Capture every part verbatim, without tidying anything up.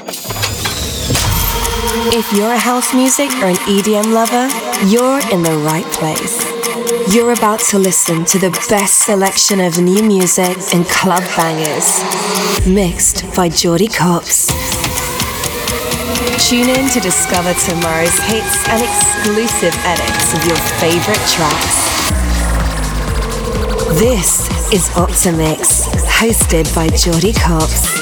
If you're a house music or an E D M lover, you're in the right place. You're about to listen to the best selection of new music and club bangers, mixed by Jordy Copz. Tune in to discover tomorrow's hits and exclusive edits of your favorite tracks. This is Optimix, hosted by Jordy Copz.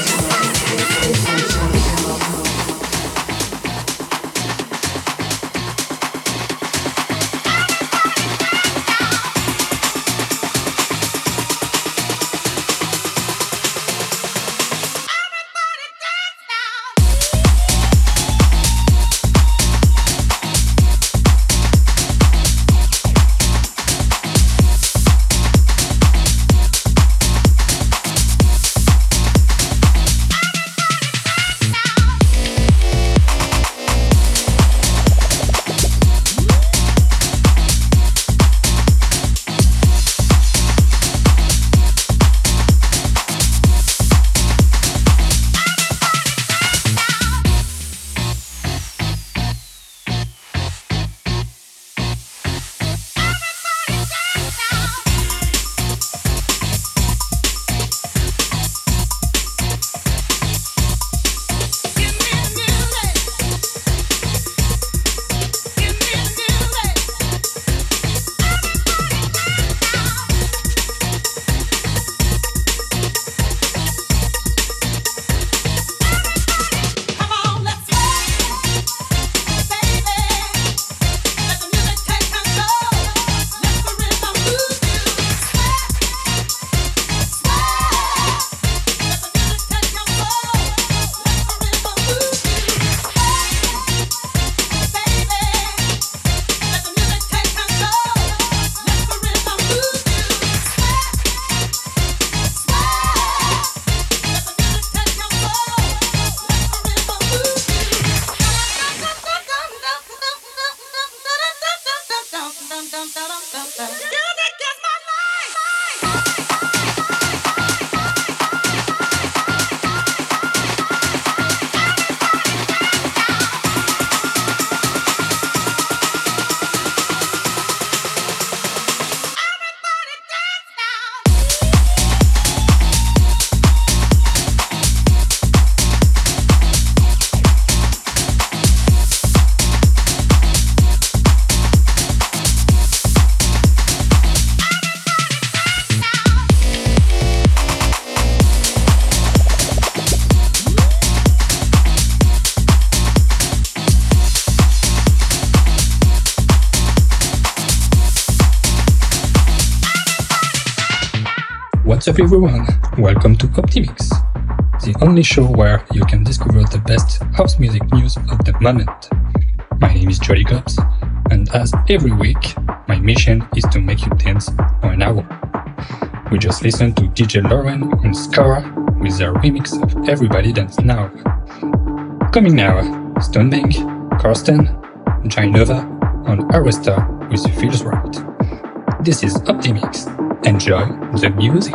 What's up everyone, welcome to Optimix, the only show where you can discover the best house music news of the moment. My name is Jordy Copz, and as every week, my mission is to make you dance for an hour. We just listened to D J Lauren and Skara with their remix of Everybody Dance Now. Coming now, Stonebank, Karsten, Jainova, and Arista with Feels Right. This is Optimix. Enjoy the music.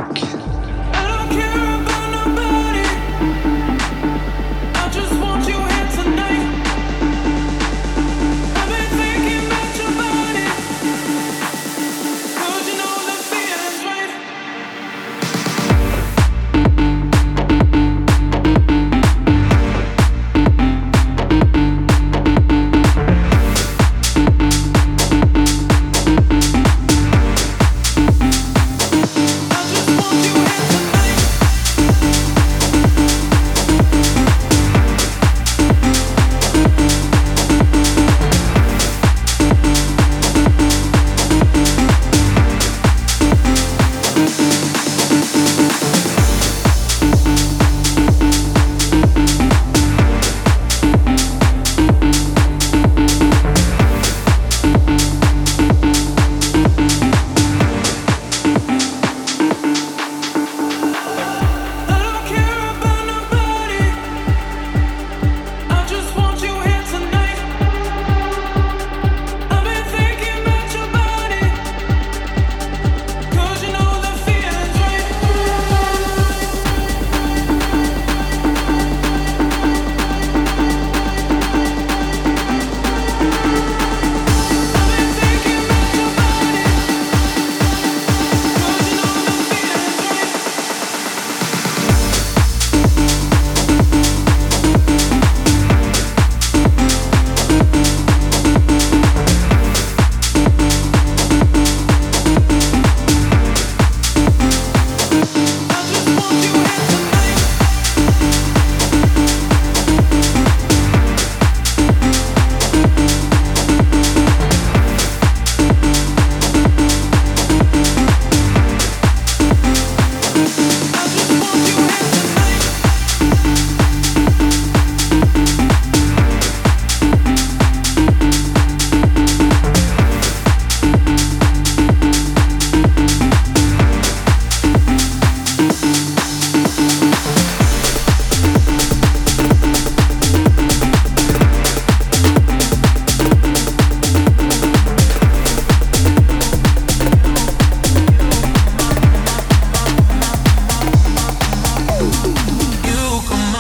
You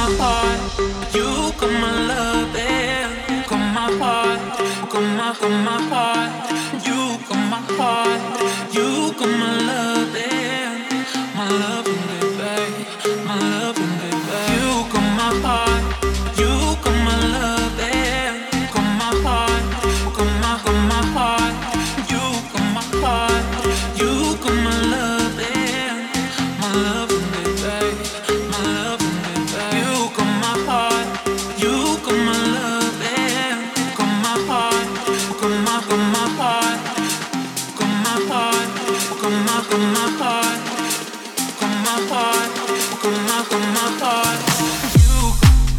my heart, you got my love, and got my heart, got my, got my heart, you got my heart, you got my love, and my love, baby, my love, baby. You got my heart, you got my love, and got my heart, got my, got my heart, you got my heart, you got my love, and my love, baby, my love, baby. You got my heart, you got my love, and got my heart, got my, got my heart, got my heart, got my, got my heart, got my heart, got my, got my heart. You.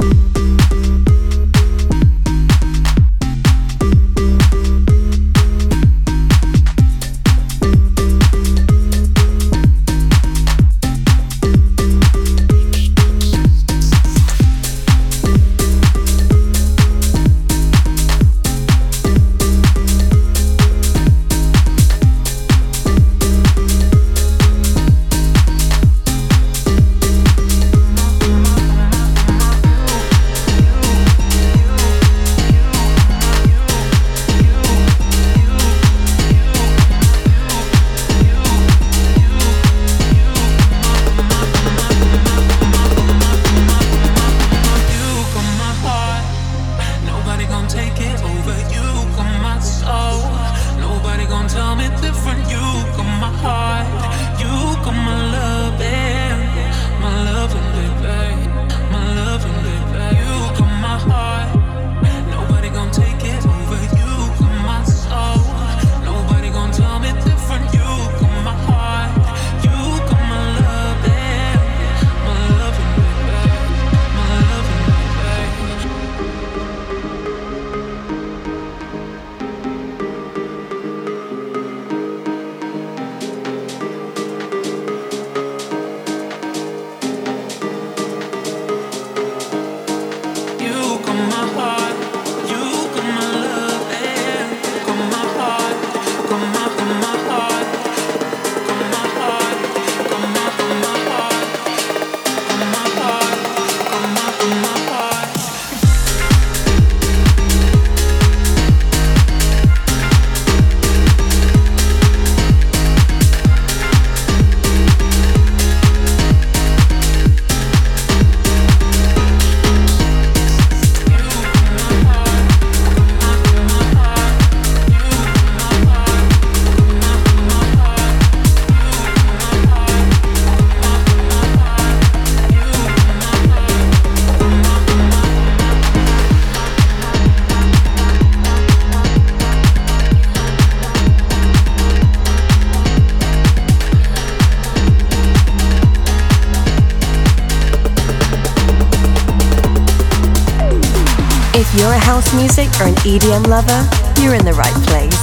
If you're a house music or an E D M lover, you're in the right place.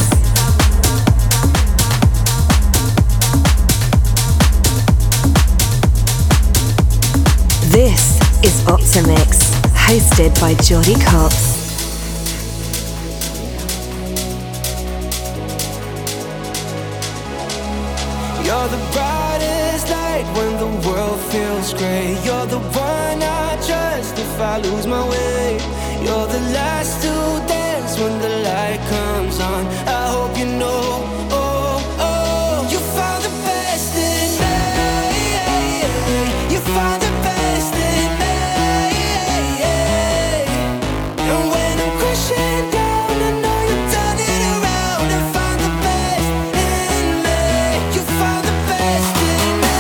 This is Optimix, hosted by Jordy Cops. You're the brightest light when the world feels grey. You're the one I trust if I lose my way. You're the last to dance when the light comes on. I hope you know, oh, oh, you found the best in me. You found the best in me. And when I'm crashing down, I know you'll turn it around and find the best in me. You found the best in me.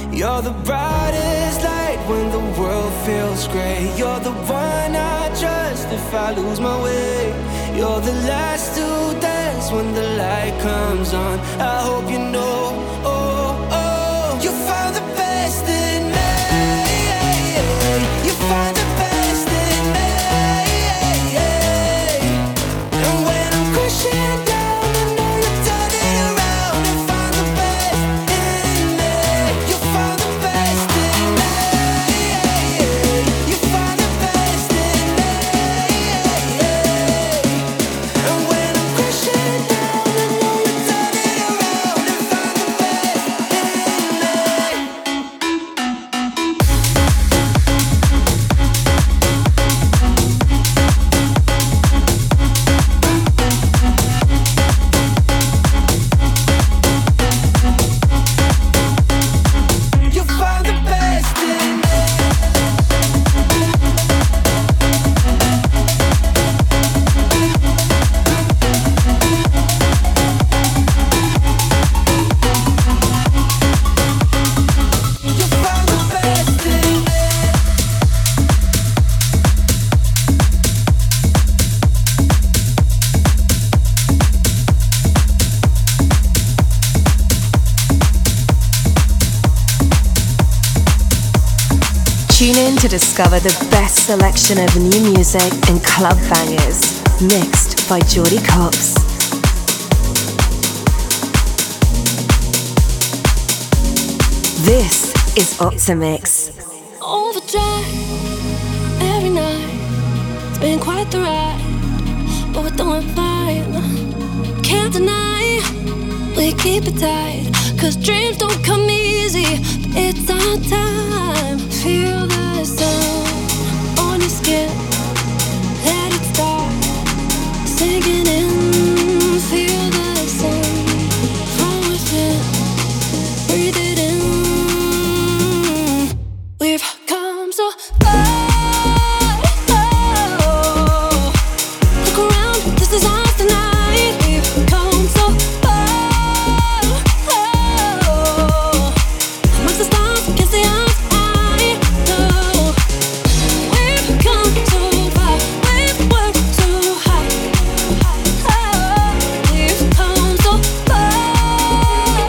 You're the brightest light when the world feels gray. You're the one I trust if I lose my way. You're the last to dance when the light comes on. I hope you know, oh, oh, you found the best in me. You find the best in me. And when I'm crashing down, I know you turn it around and find the best in me. You find the best in me. You find the best in me. And when I'm crashing down, I know you turn it around and find the best in me. You find the best in me. You find the best in me. Tune in to discover the best selection of new music and club bangers, mixed by Geordie Cops. This is Optimix. Overdrive every night. It's been quite the ride, but we're doing fine. Can't deny we keep it tight, 'cause dreams don't come easy, but it's our time. Feel the sun on your skin, let it start sinking in. Feel the sun from within, breathe it in. We've come so far. Look around, this is ours tonight. We've come so far. Amongst the stars, against the odds, I know. We've come so far. We've worked so hard. We've come so far.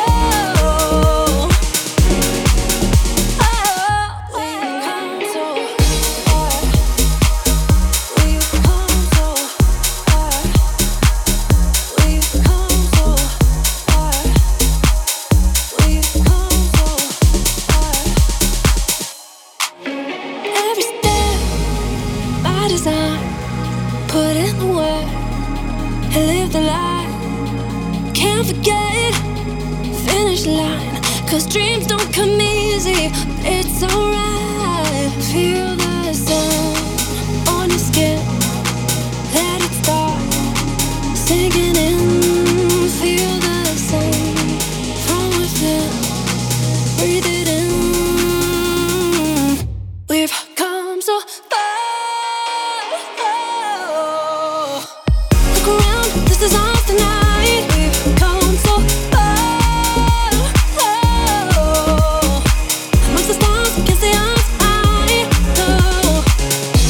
Every step by design, put in the work and live the life. Can't forget finish line, 'cause dreams don't come easy, but it's alright. Feel the sun on your skin, let it start sinking in. Feel the sun from within, breathe it in. We've come so far. Look around, this is ours tonight. We've come so far. Amongst the stars, against the odds, I know.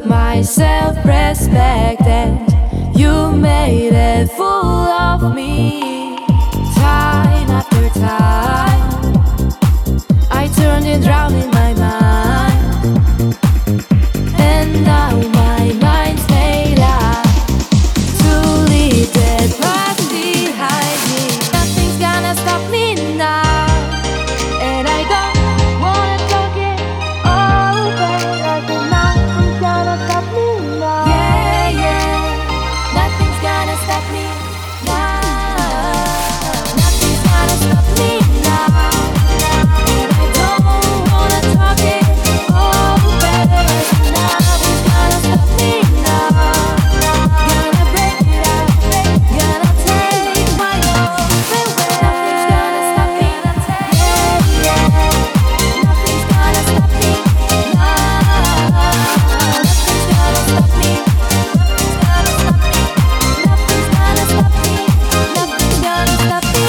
my self-respect, and you made a fool of me. Time after time, I turned and drowned in my mind, and now my mind's made up to leave that past behind me. Nothing's gonna stop me now, and I don't wanna talk it over. Like nothing's gonna stop me now. Yeah, yeah, nothing's gonna stop me now. Nothing's gonna stop me now, and I don't wanna talk it over. Nothing's gonna stop me now. Gonna break it up, gonna take my love away. Nothing's gonna stop me, yeah, yeah. Nothing's gonna stop me now. Nothing's gonna stop me. Nothing's gonna stop me. Nothing's gonna stop me. Nothing's gonna stop me.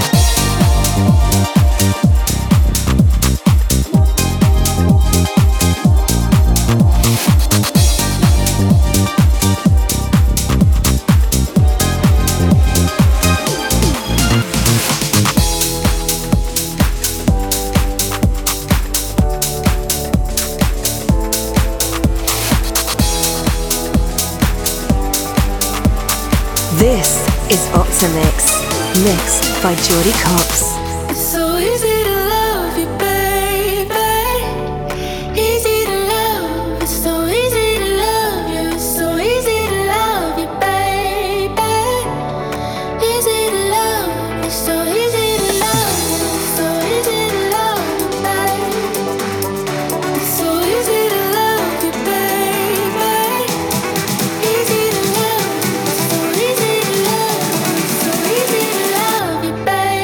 This is Optimix, mixed by Jordy Cops. It's so easy to love you, baby. Easy to love. It's so easy to love you. It's so easy to love you, baby. Easy to love. It's so easy to love you. It's so easy to love you, baby. It's so easy to love you, baby. Easy to love. It's so easy to love. It's so easy to love you,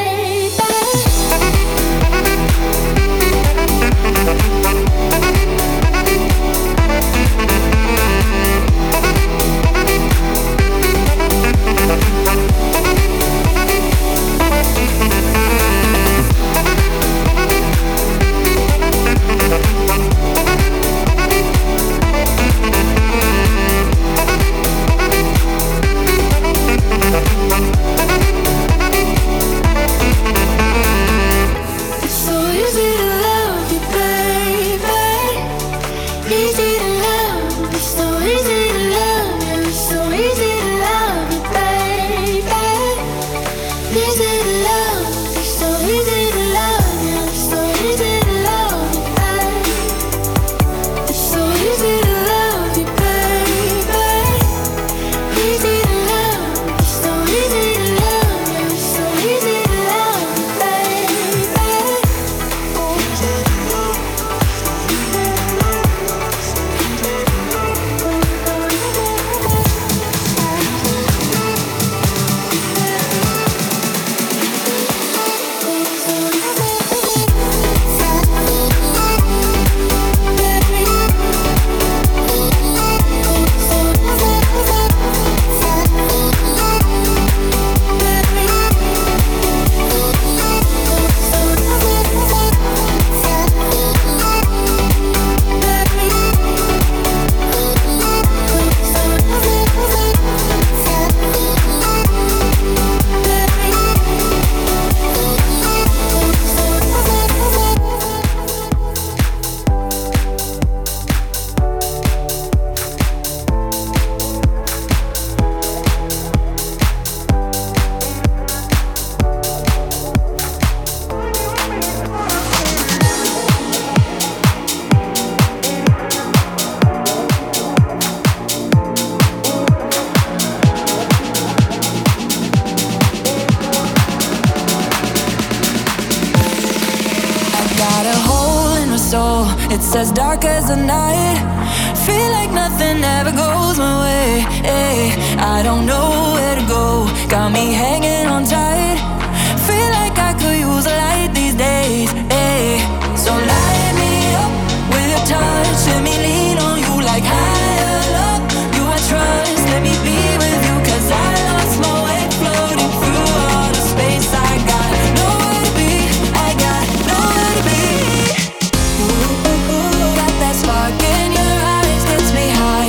It's as dark as the night. Feel like nothing ever goes my way. Ay, I don't know where to go. Got me hanging on tight. Feel like I could use a light these days. Ay, so light me up with your touch. Let me lean on you like higher love. You I trust. Let me be with you, 'cause I lost my way floating through all the space. I got nowhere to be. I got nowhere to be. Got that spark in your eyes, gets me high.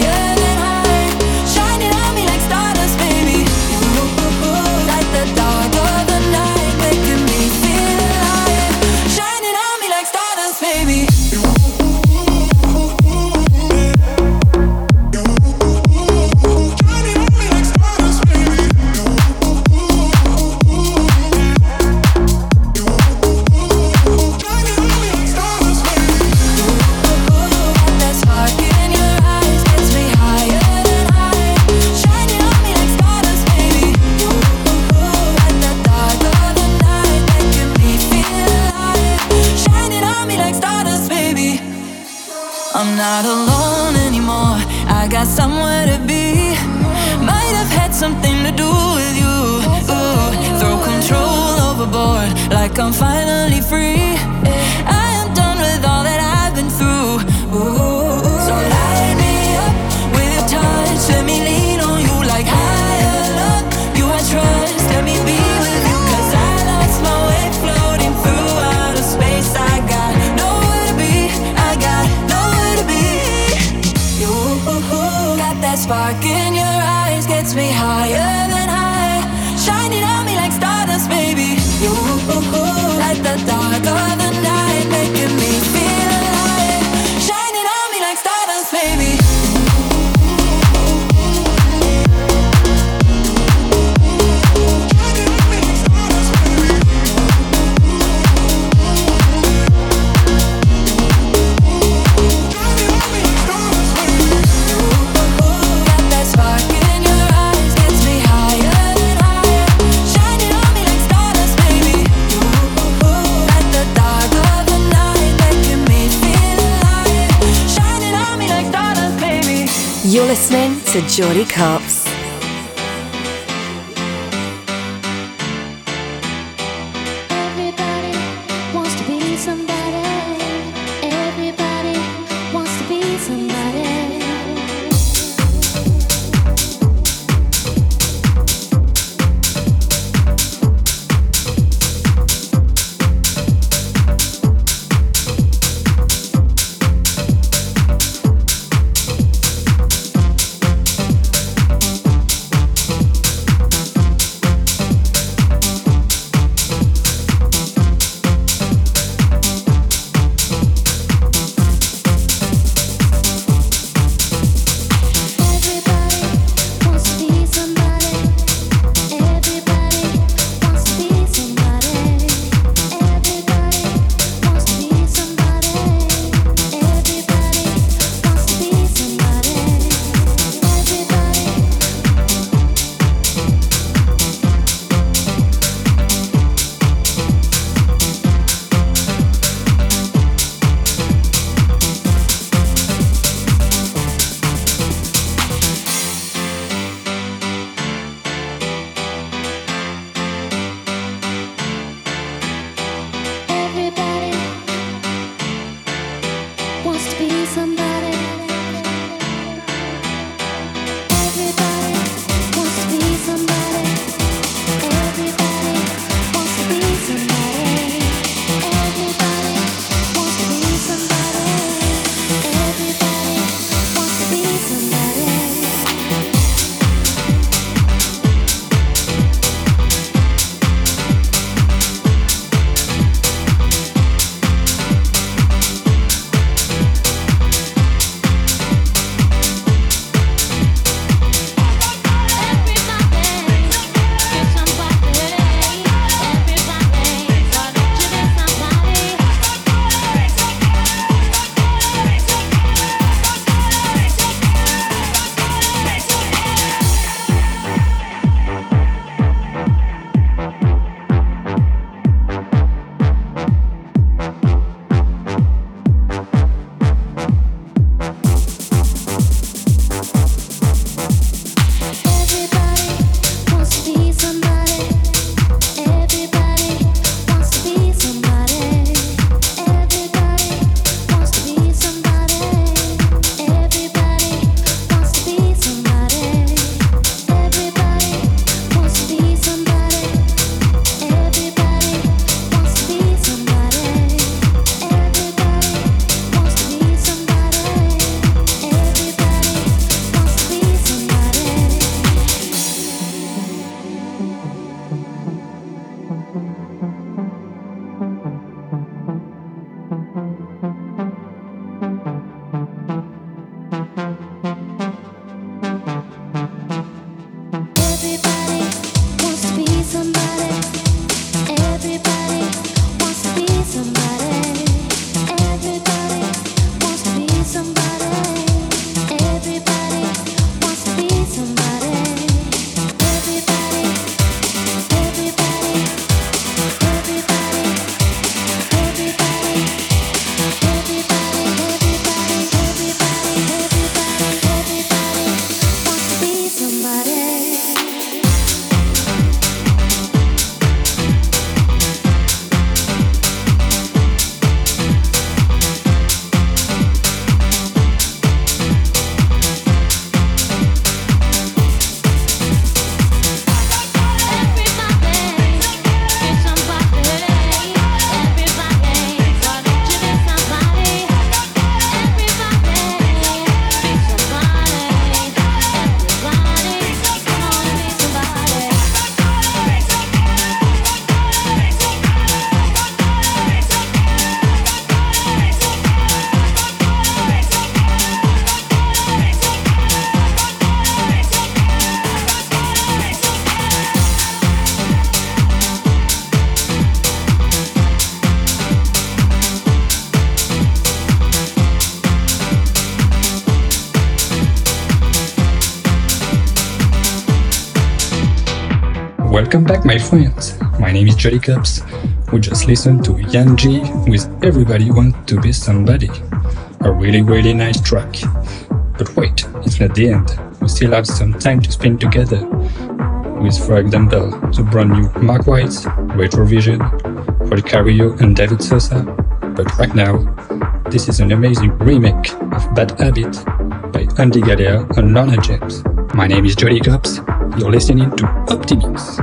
I'm not alone anymore. I got somewhere to be. Might have had something to do with you. Ooh, throw control overboard like I'm finally free. I am done with all that I've been through. Ooh, so light me up with your touch. Let me lean on you like higher love. You I trust. Let me be with you 'cause I lost my way floating through outer space. I got nowhere to be. I got nowhere to be. You got that spark in your eyes, gets me higher than high, shining on me like stardust, baby. You light the dark of the night, making me feel alive, shining on me like stardust, baby. You're listening to Jordy Cops. Everybody wants to be somebody. Everybody wants to be somebody. Welcome back, my friends. My name is Jolly Cups. We just listened to Yan G with Everybody Want to Be Somebody. A really, really nice track. But wait, it's not the end. We still have some time to spend together. With, for example, the brand new Mark White, Retrovision, Rod Carillo and David Sosa. But right now, this is an amazing remake of Bad Habit by Andy Galea and Lorna James. My name is Jolly Cups. You're listening to Optimix.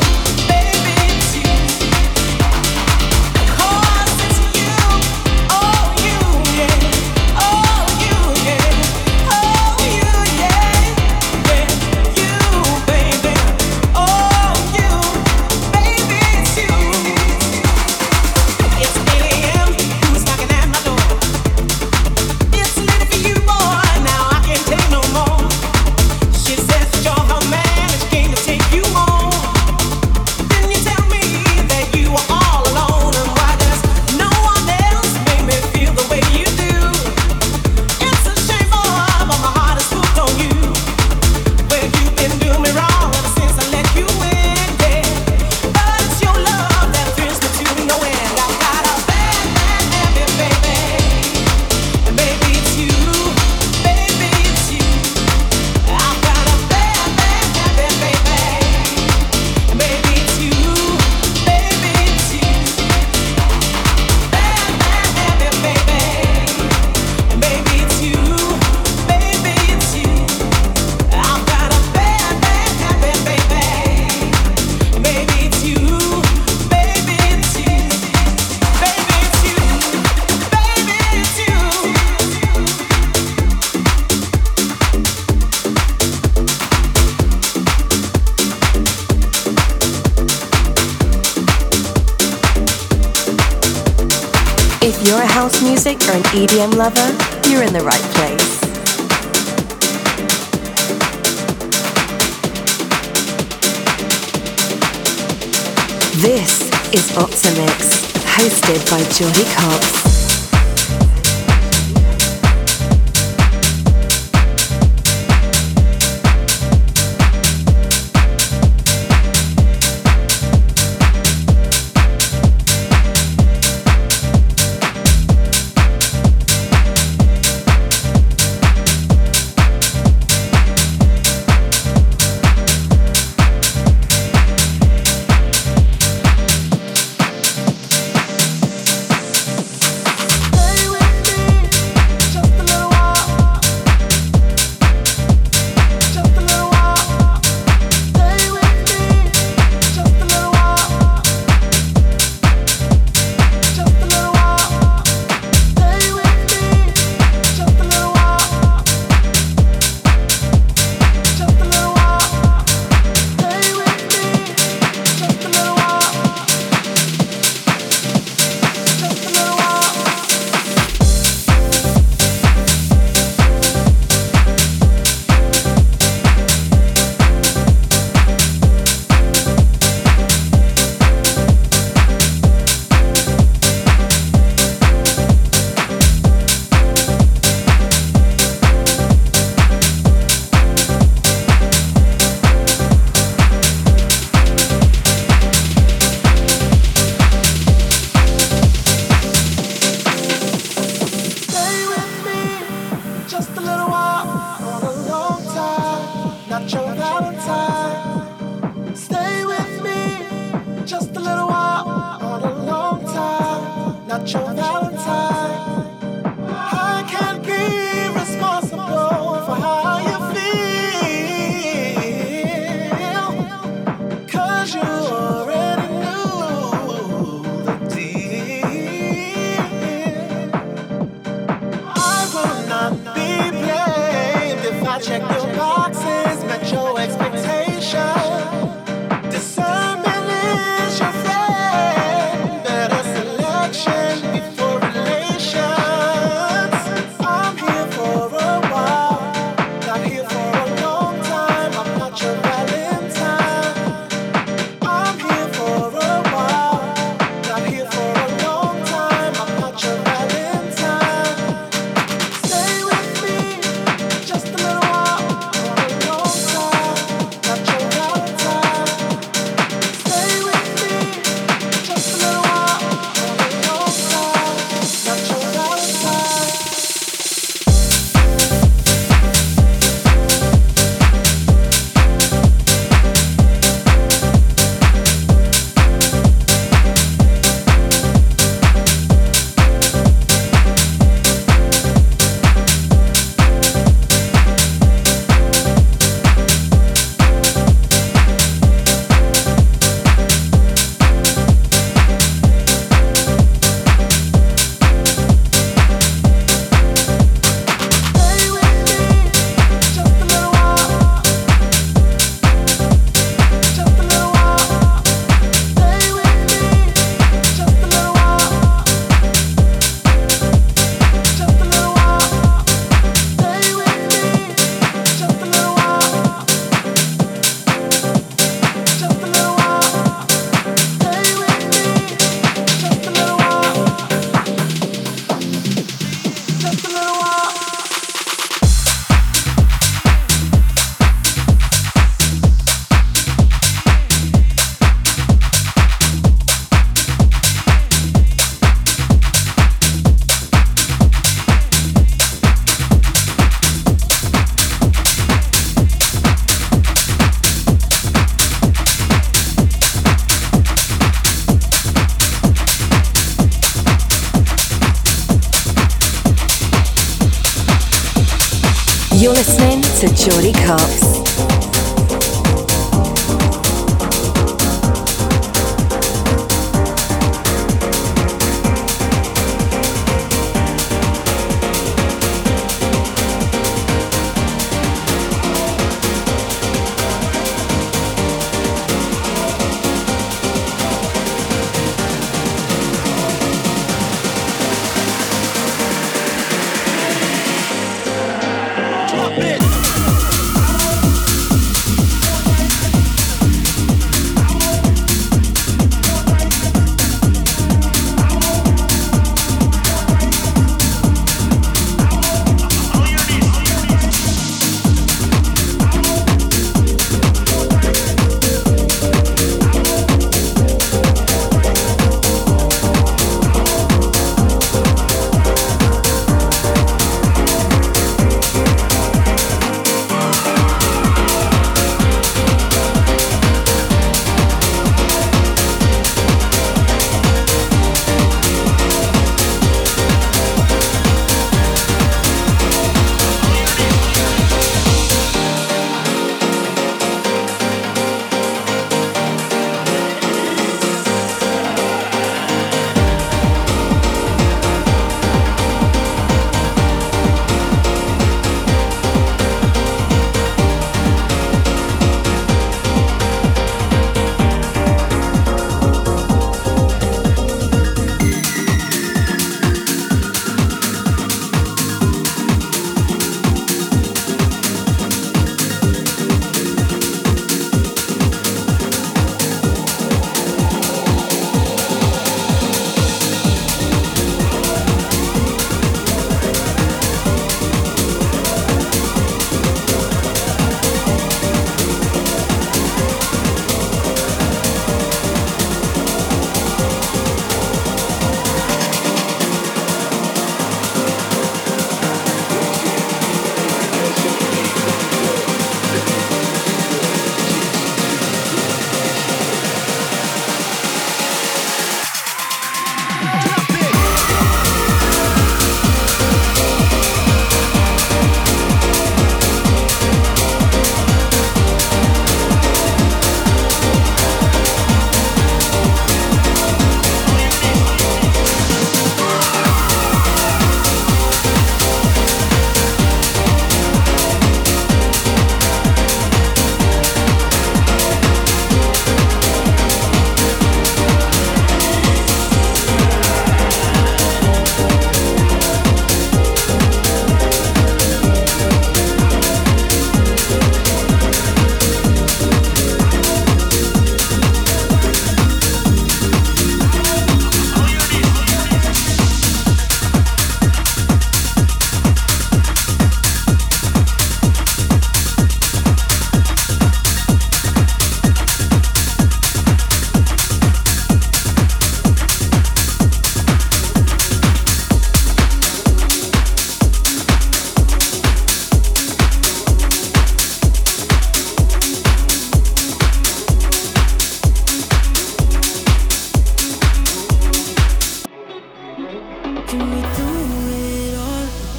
Oh you're a house music or an E D M lover, you're in the right place. This is Optimix, hosted by Jordy Cox. You're listening to Jordy Cox.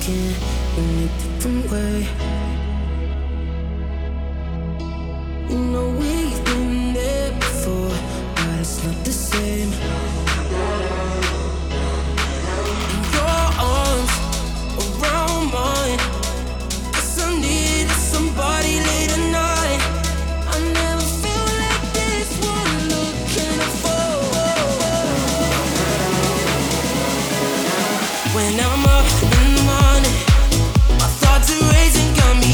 again in a different way. You know we've been there before, but it's not the same. Your arms around mine, guess I needed somebody late at night. I never feel like this one looking for. When I'm up in the morning, my thoughts are racing, got me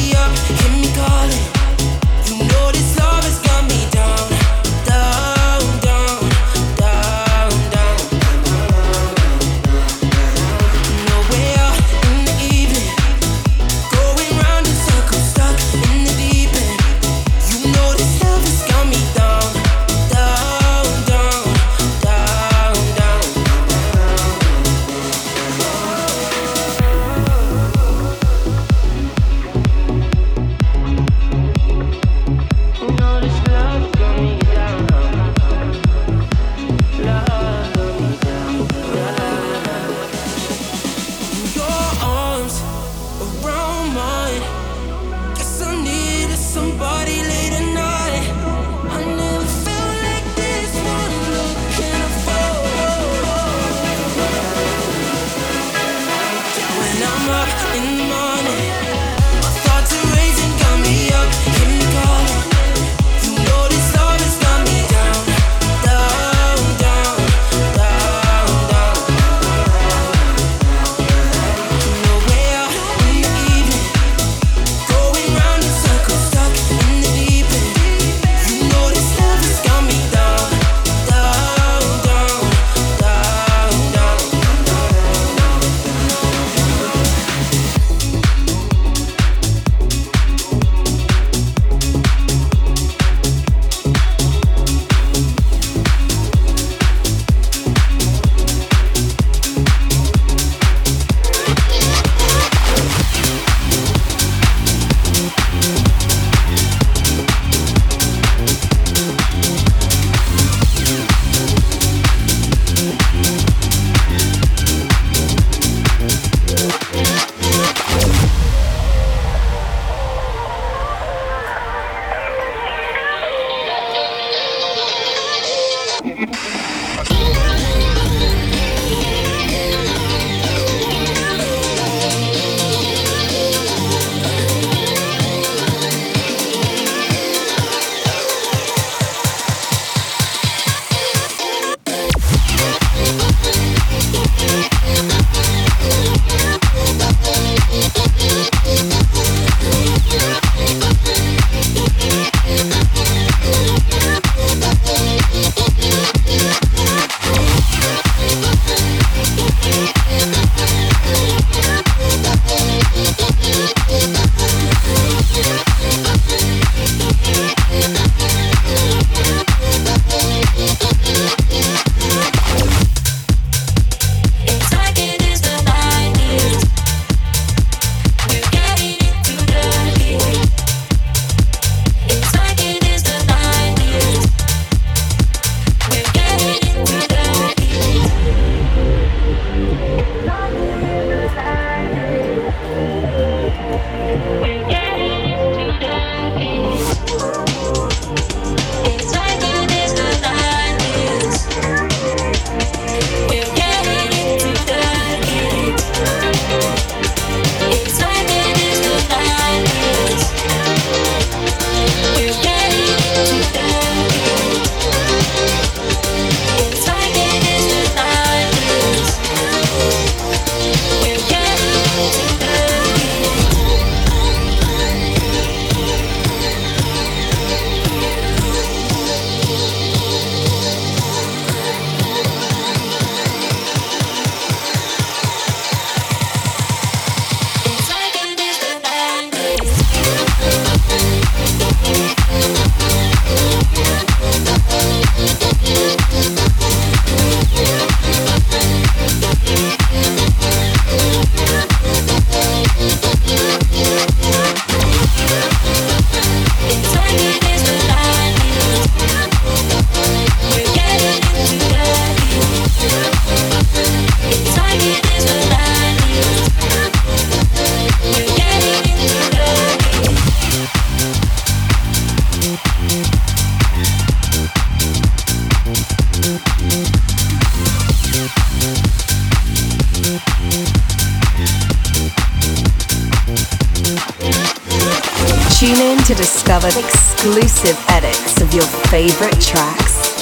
Tune in to discover exclusive edits of your favorite tracks.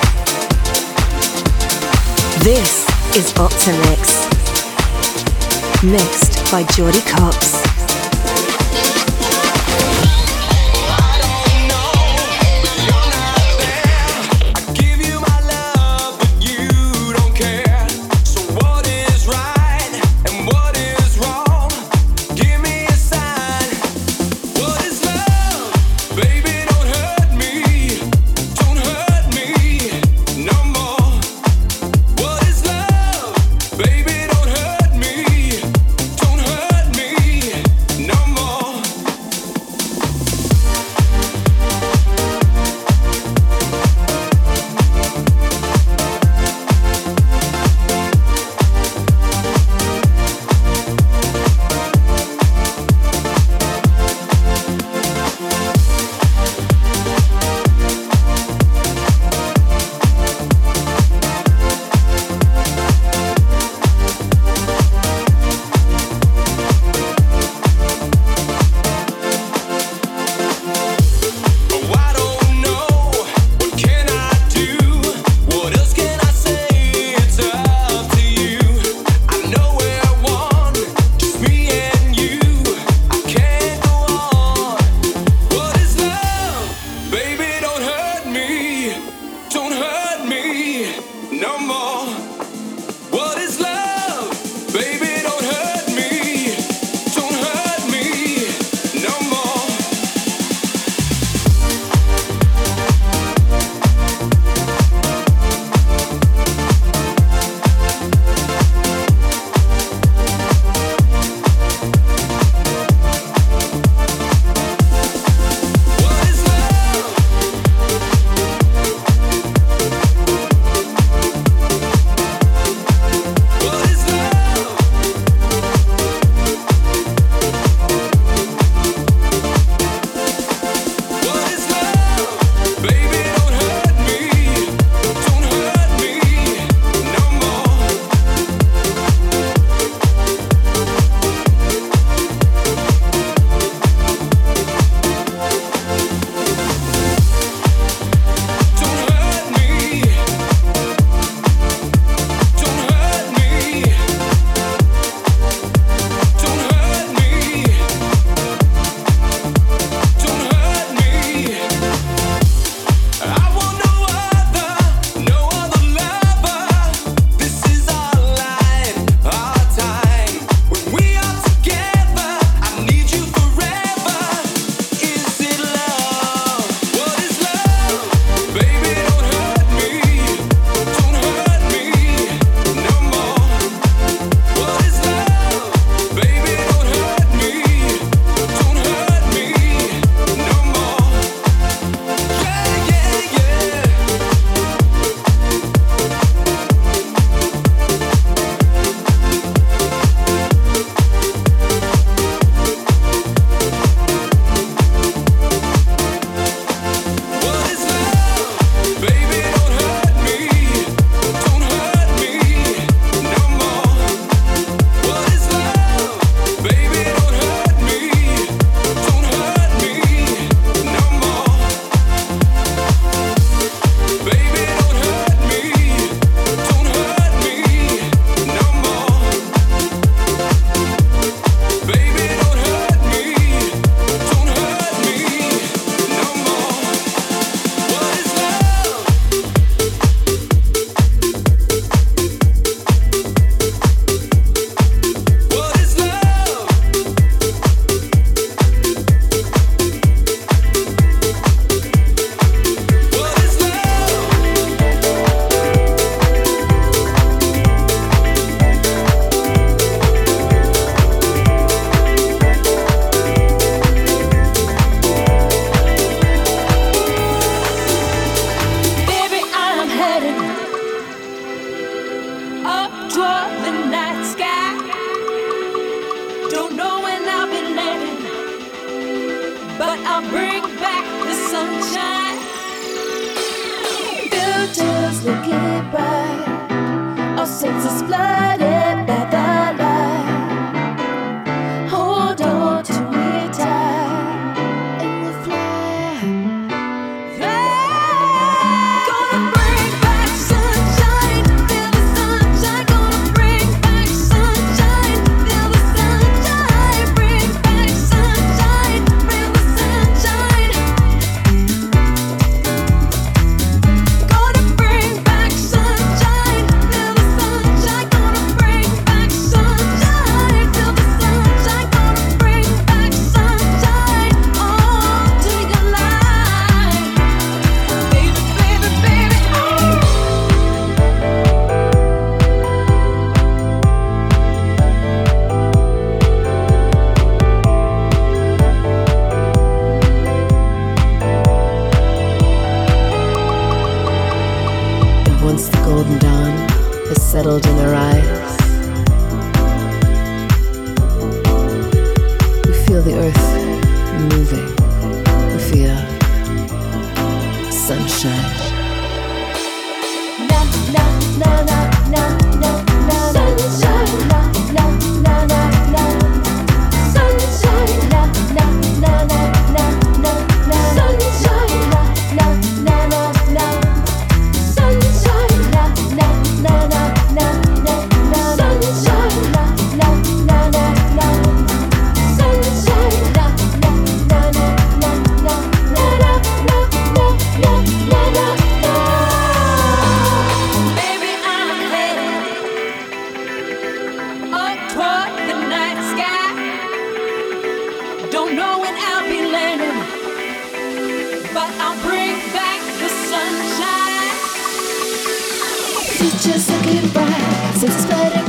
This is Optimix, mixed by Jordy Copps. Hold on to me tight. the earth moving. We feel sunshine. Na na na na na na na sunshine. Na na na na na sunshine. Na na na na na na na sunshine. Na na na na na sunshine. Na na na na na na sunshine. Na na na na na sunshine. Na na na na na na na na na na na. Baby, I'm headed up toward the night sky. Don't know when I'll be landing, but I'll bring back the sunshine. Future's looking bright since it's spreading